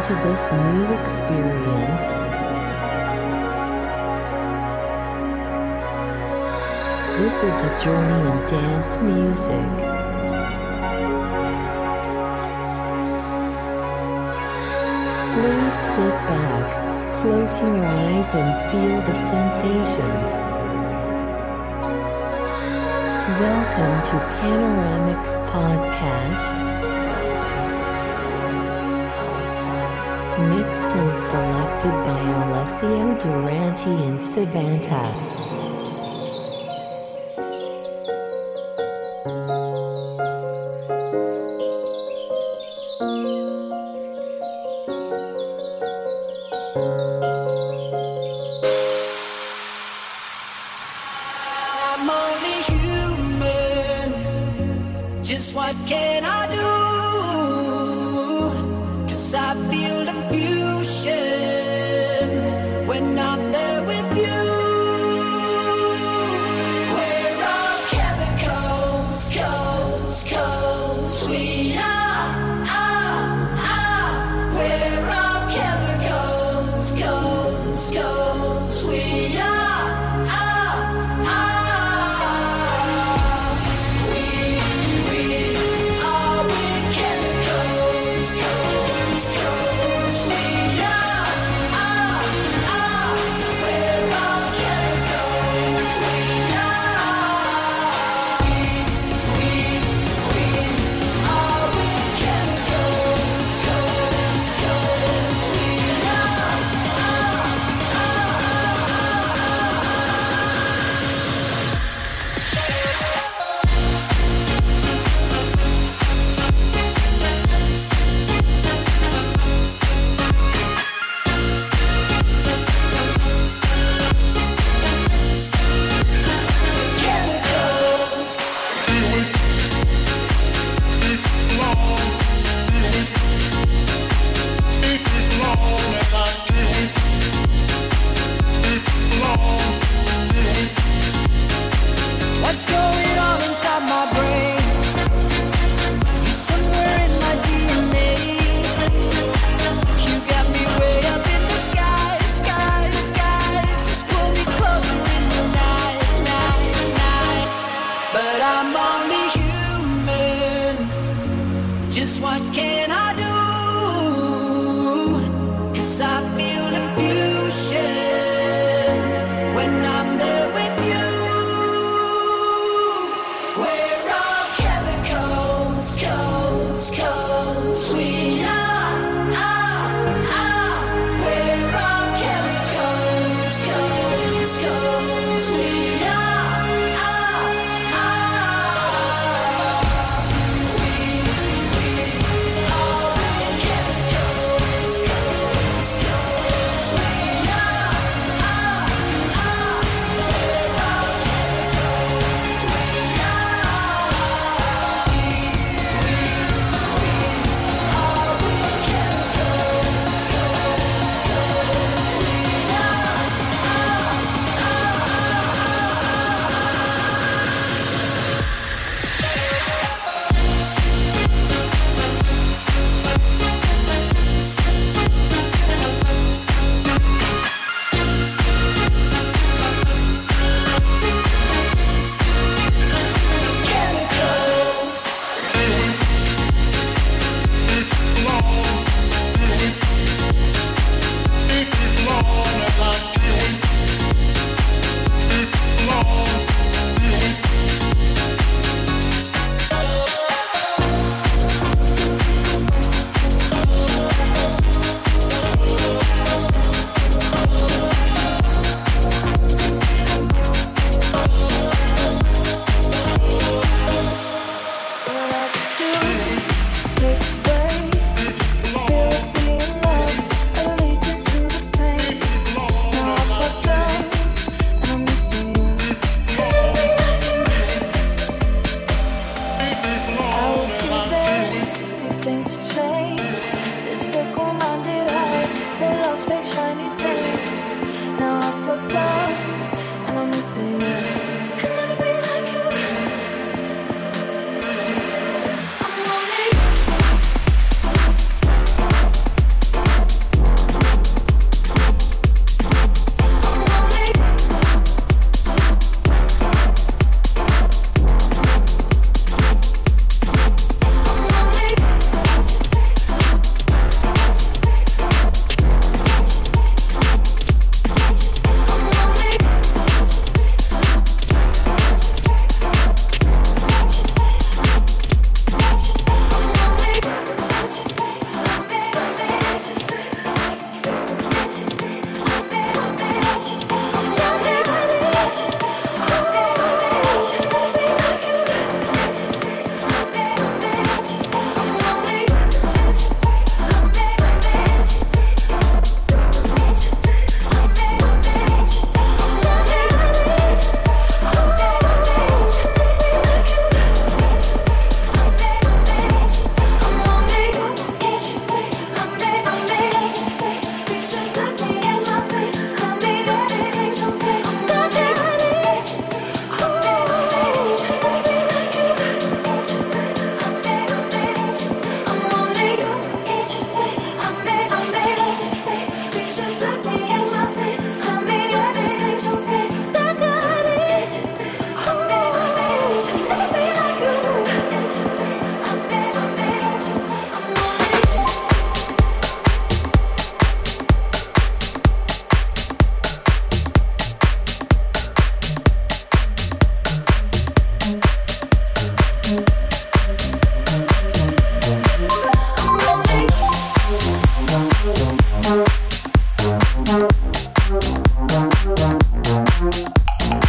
to this new experience. This is a journey in dance music. Please sit back, close your eyes and feel the sensations. Welcome to Panoramics Podcast. Mixed and selected by Alessio Durante and Savanta.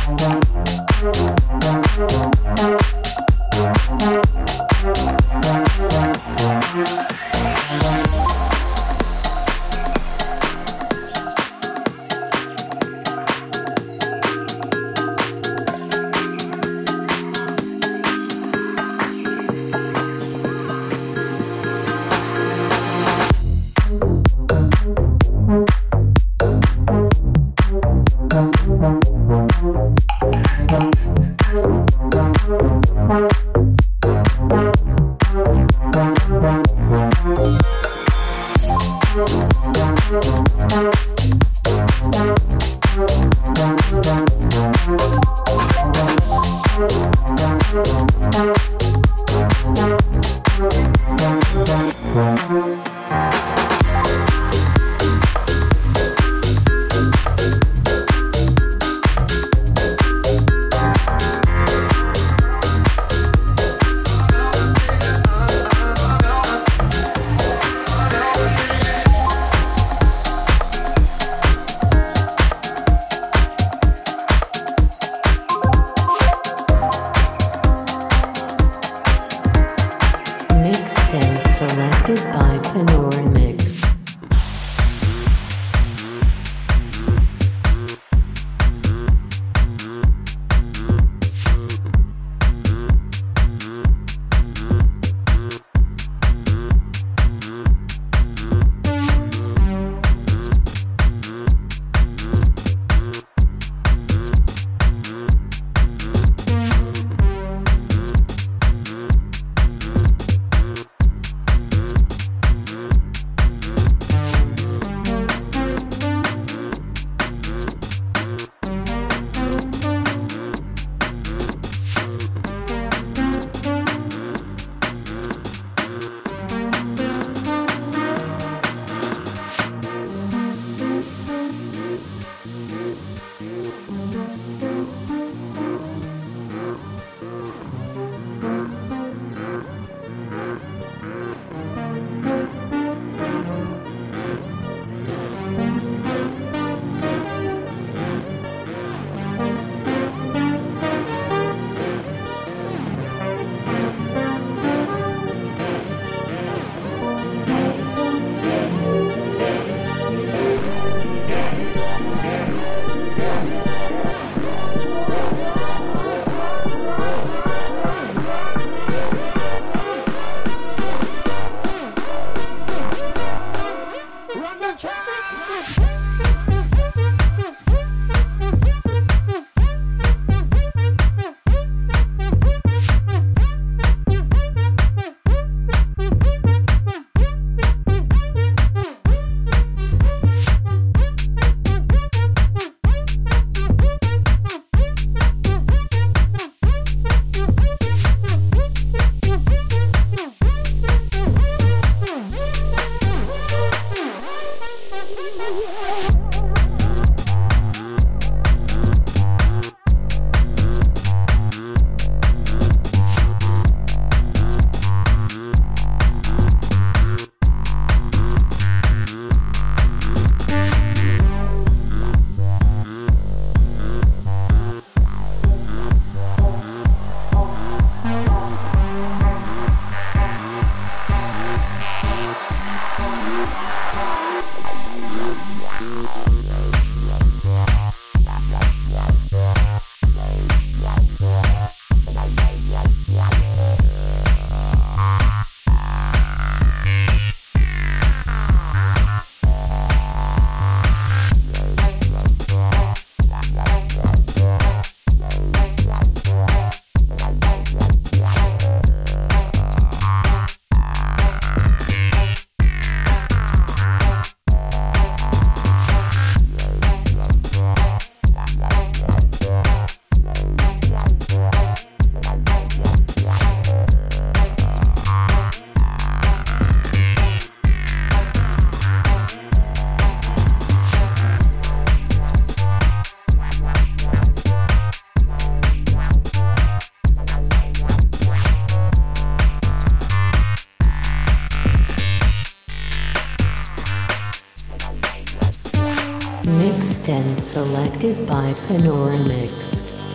Mixed and selected by Panoramix.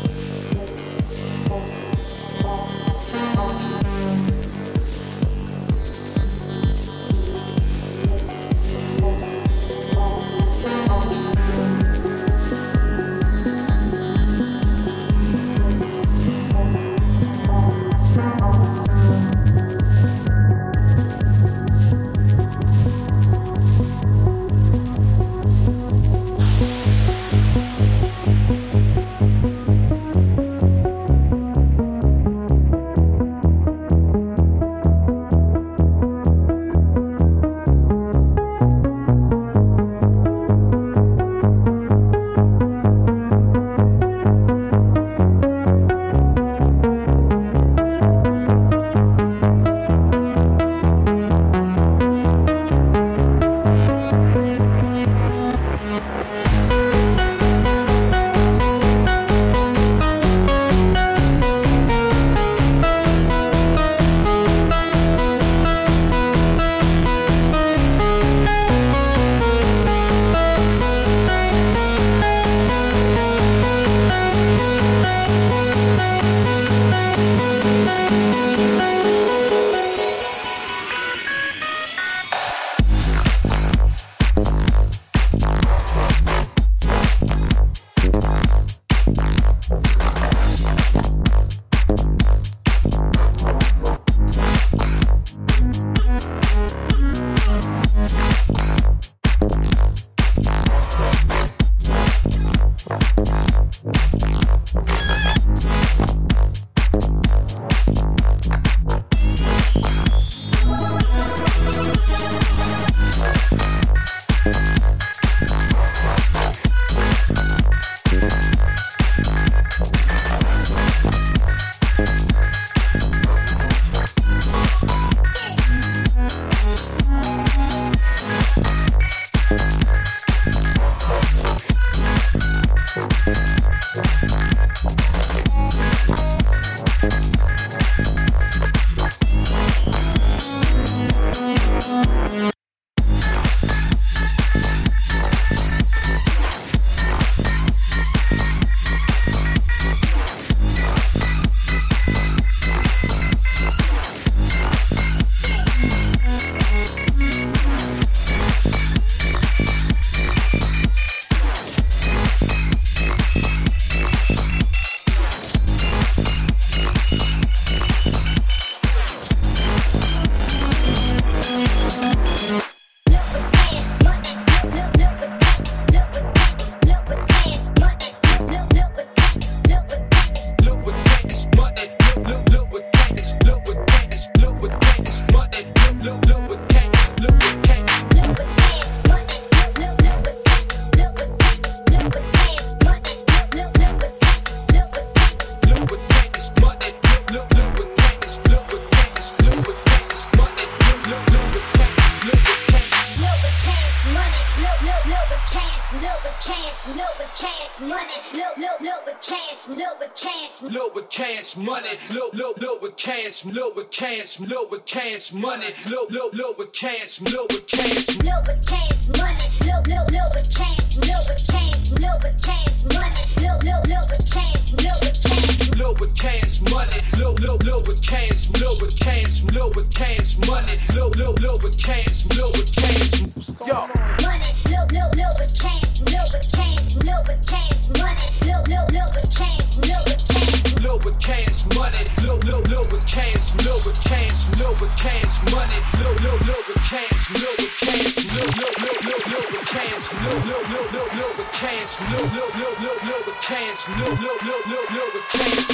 Cash money, low with cash, low with cash, low with cash money, low with cash, low with cash, low with cash money, low with cash, low with cash, low with cash money, low with cash, low with cash, low with cash money, low with cash, low with cash, yo money, low with cash, low with cash, low with cash money, low with cash, low with cash, low with cash money, low with cash, low with cash, low with cash money, low with cash, low with cash, low with cash, low with cash, low with cash, low with cash,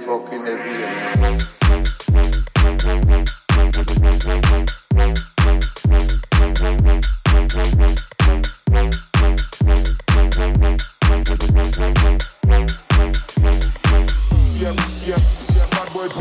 fucking heavy. Bad boy.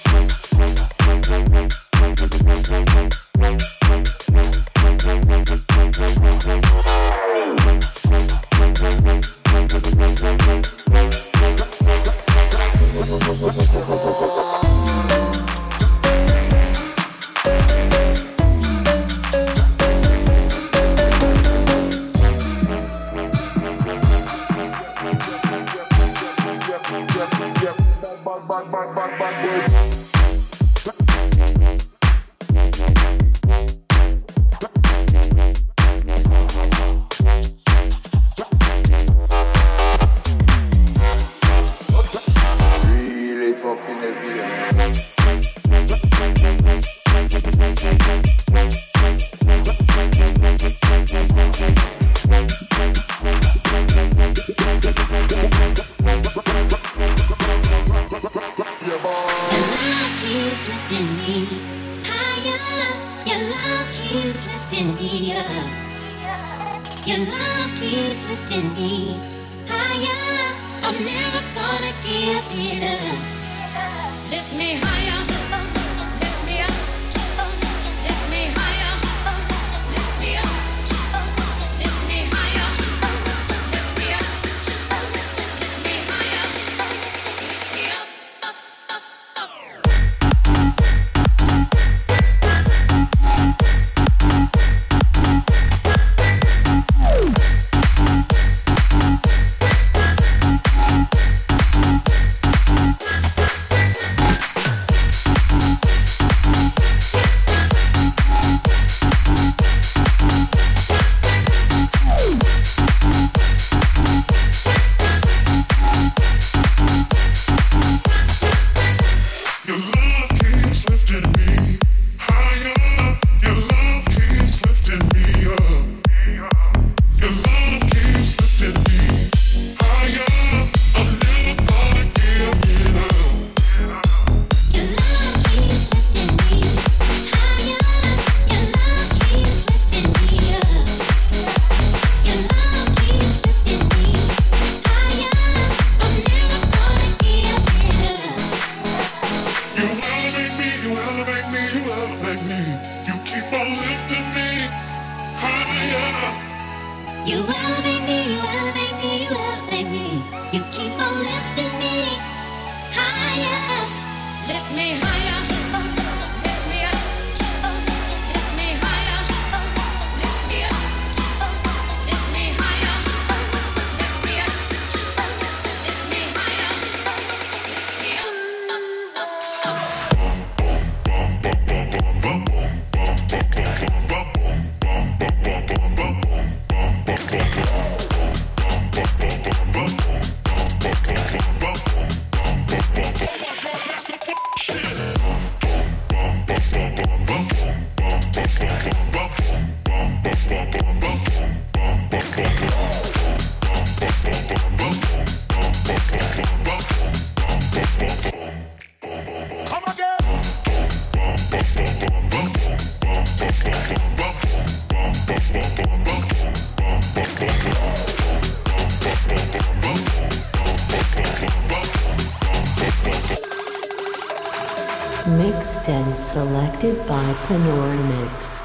Mixed and selected by Panoramix.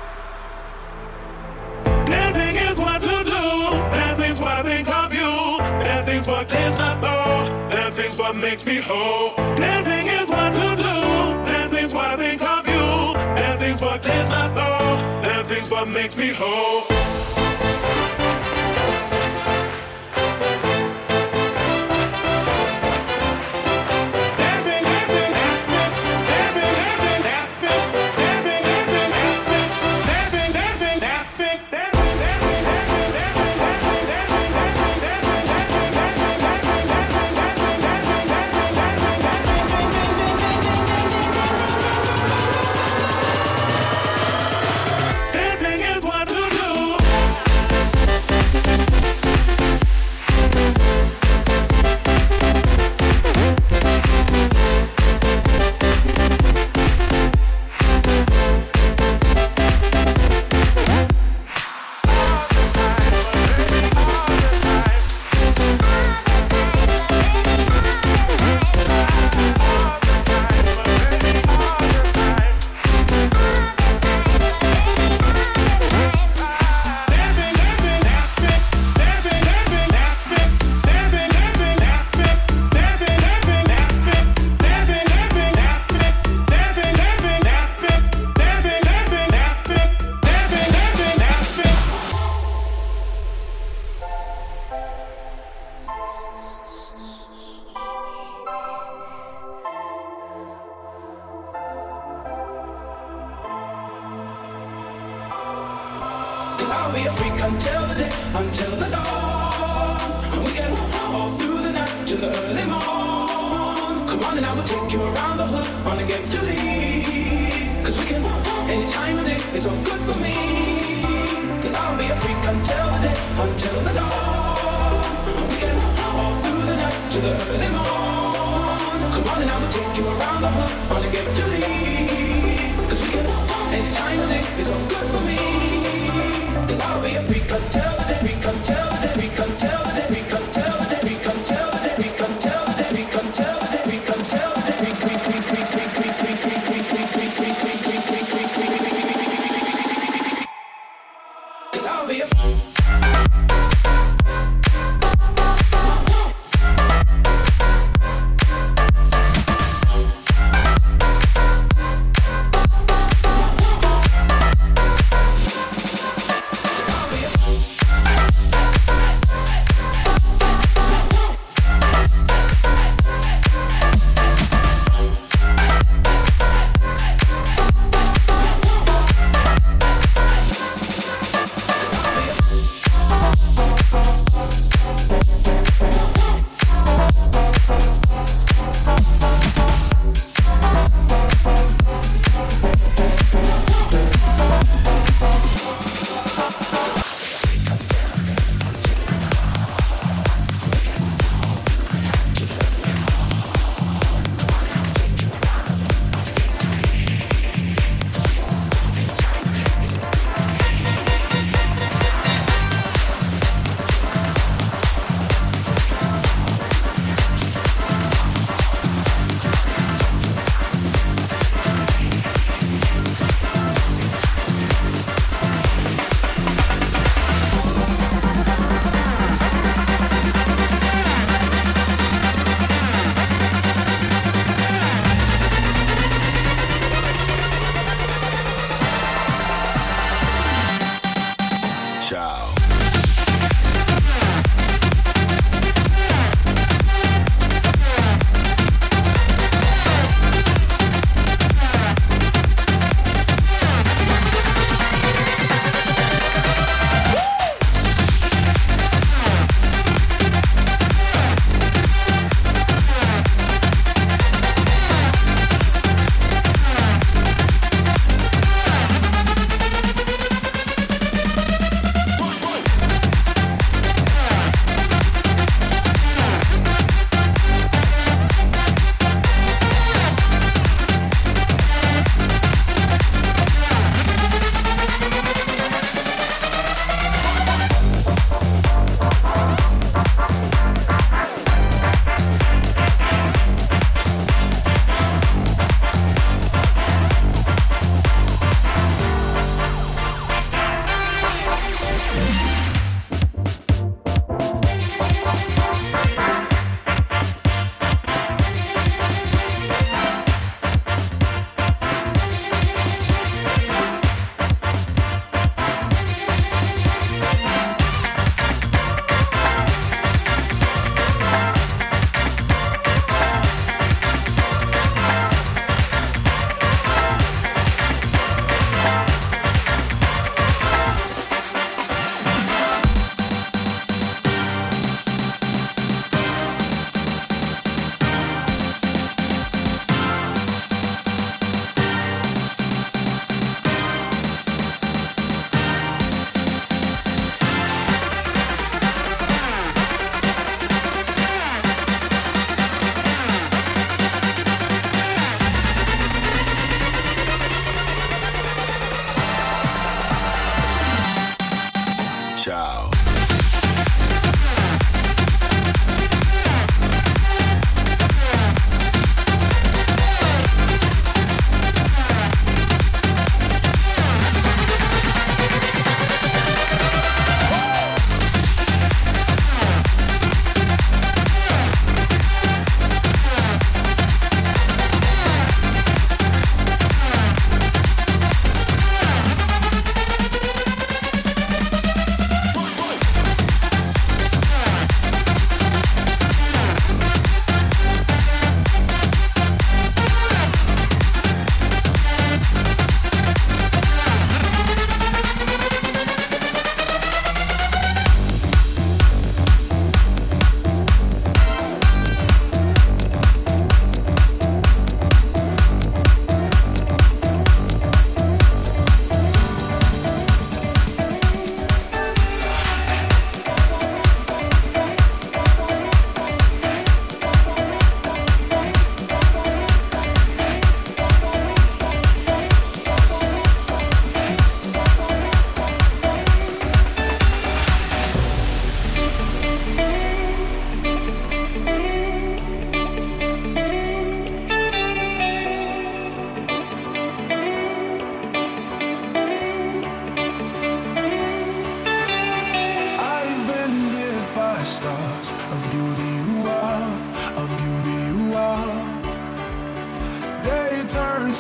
Dancing is what to do. Dancing's what I think of you. Dancing's what clears my soul. Dancing's what makes me whole. Dancing is what to do. Dancing's what I think of you. Dancing's what clears my soul. Dancing's what makes me whole. Dancing is what to do. Cause I'll be a freak until the day, until the dawn. We can all through the night to the early morn. Come on and I will take you around the hood on a gangster league. Cause we can, any time of day is all good for me. Cause I'll be a freak until the day, until the dawn. We can all through the night to the early morn. Come on and I will take you around the hood on a gangster league. Cause we can, any time of day is all good for me. Cause I'll be a freak until the day, freak until the day, freak until the day, freak until the day, freak until the day, freak until the day, freak until the day, freak until the day, freak, freak, freak, freak, freak, freak, freak, freak, freak, freak, freak, freak, freak, freak, freak, freak, freak. Cause I'll be a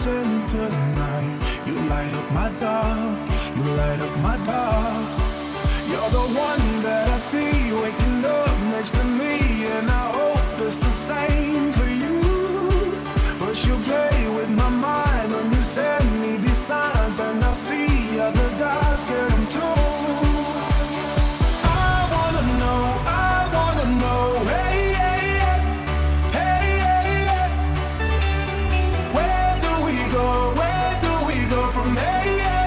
dancing tonight. You light up my dark, you light up my dark. You're the one that I see waking up next to me, and I hope it's the same for you. But you play with my mind when you send me these signs, and I see other guys get them too. I wanna know, hey, hey, hey, hey, hey, hey. Where do we go from here?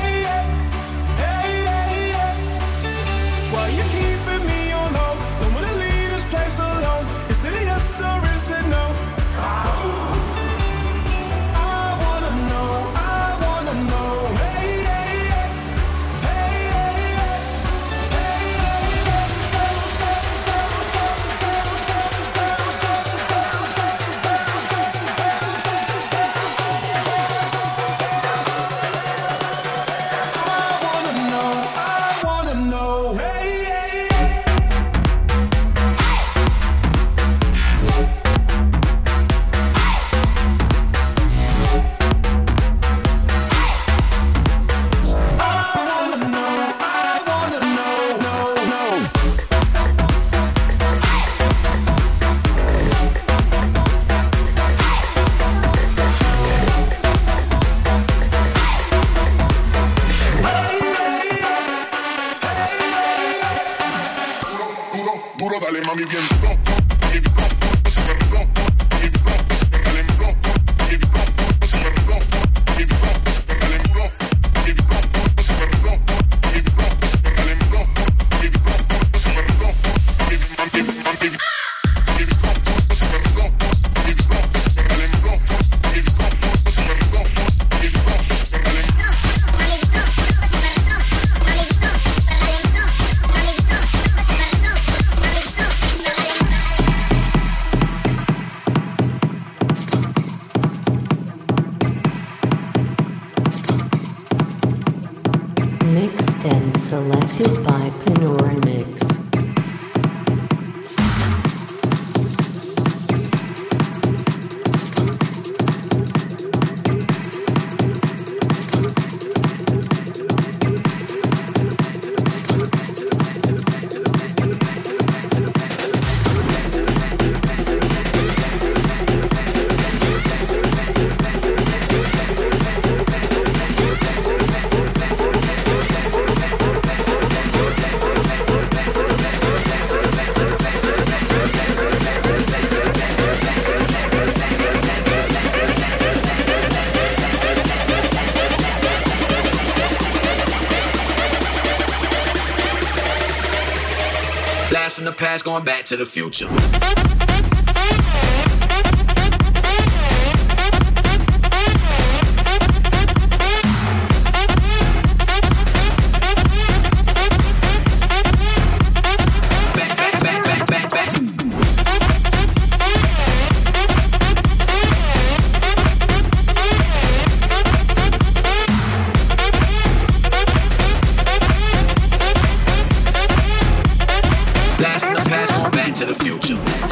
Mixed and selected by Panoramix. Blast from the past, going back to the future. To the future.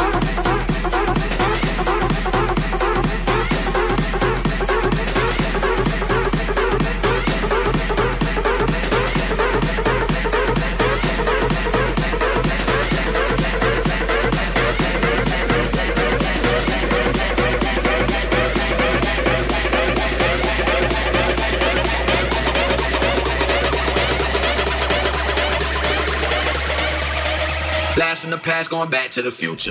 Blast from the past, going back to the future.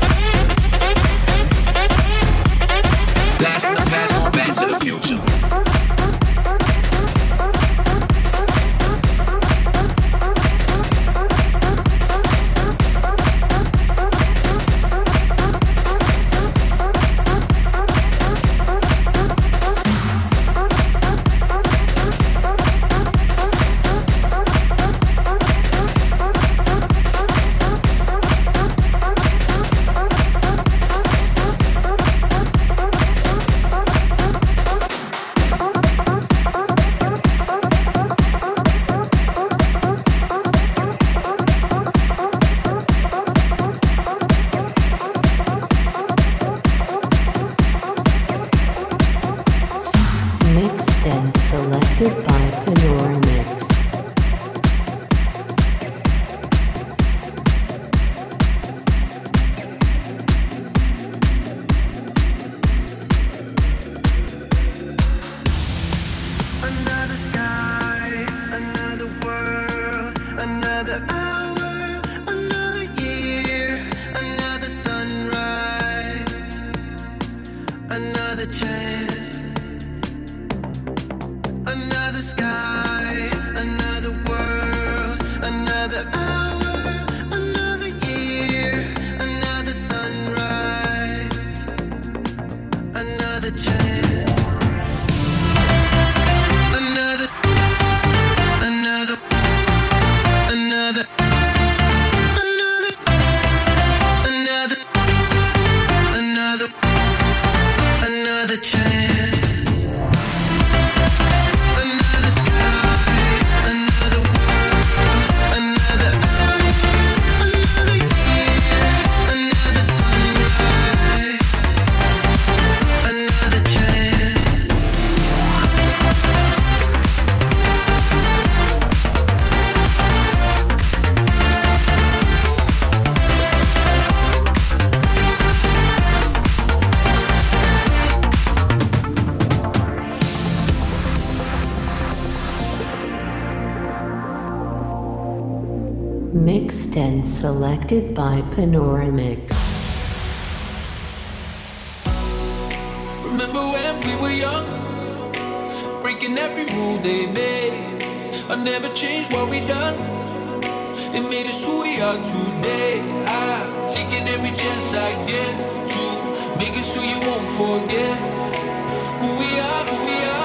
Blast from the past, going back to the future. Mixed and selected by Panoramix. Remember when we were young, breaking every rule they made. I never changed what we done. It made us who we are today. I'm taking every chance I get to make it so you won't forget who we are, who we are.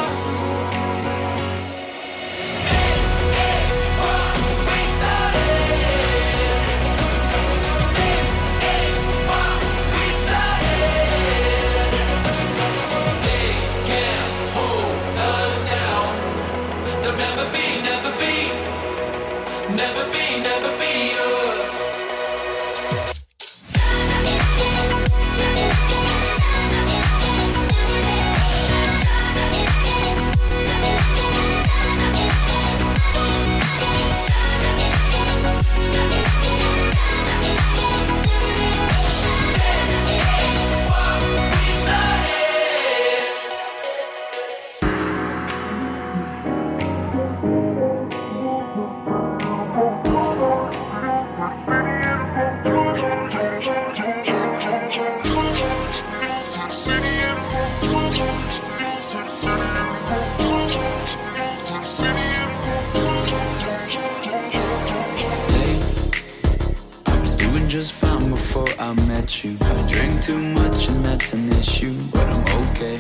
Just fine before I met you. I drink too much and that's an issue, but I'm okay.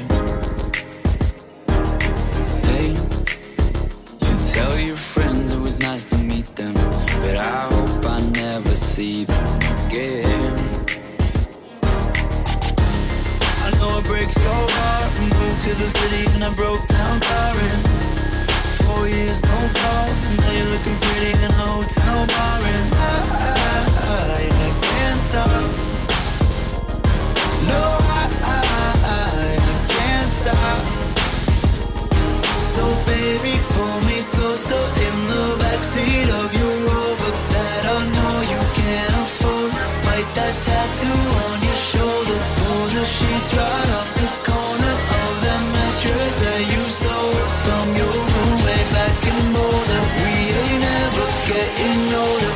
Hey, you tell your friends it was nice to meet them, but I hope I never see them again. I know it breaks your heart. We moved to the city and I broke down crying. 4 years, no calls. Now you're looking pretty in a hotel bar, and I can't stop. No, I can't stop. So baby, pull me closer in the backseat of your Rover that I know you can't afford. Write that tattoo on your shoulder. Pull the sheets right off the corner of that mattress that you stole from your roommate back in Boulder. We ain't ever getting older.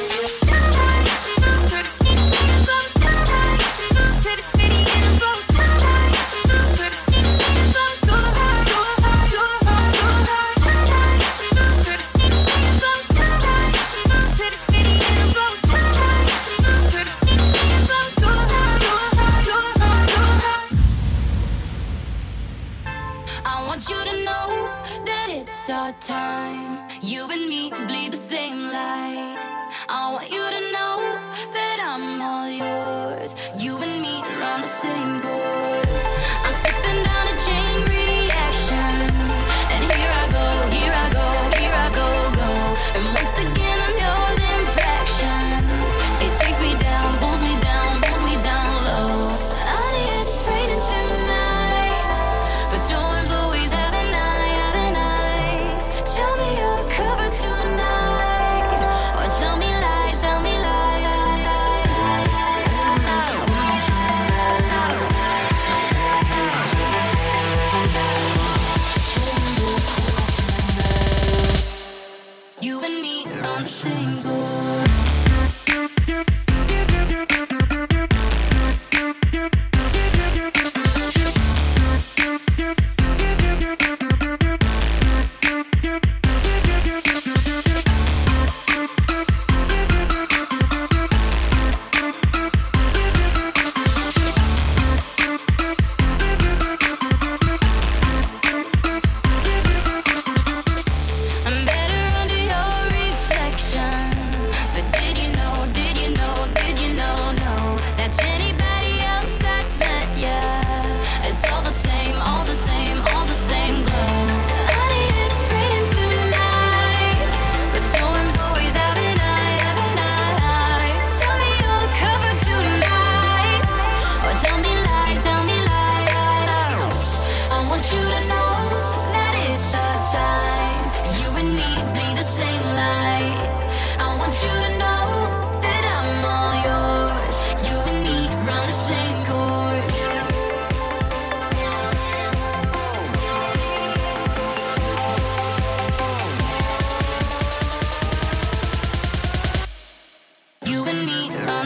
Time you and me bleed the same light. I want you to know that I'm all yours. You and me run the same course. I'm slipping down a chain reaction, and here I go, here I go, here I go, go. And once again I'm yours in fractions. It takes me down, pulls me down low. I need it raining tonight, but storms always have a night. Tell me you're covered tonight, or tell me lies, tell me lies. You and me are on the same board. I'm better under your reflection.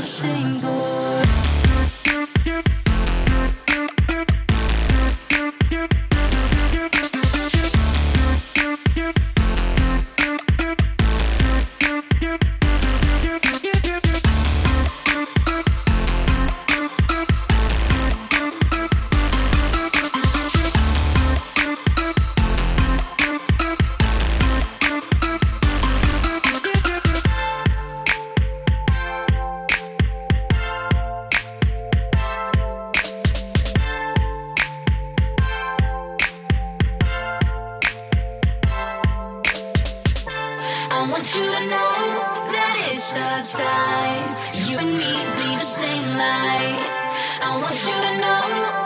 same board. I want you to know that it's our time. You and me bleed the same light. I want you to know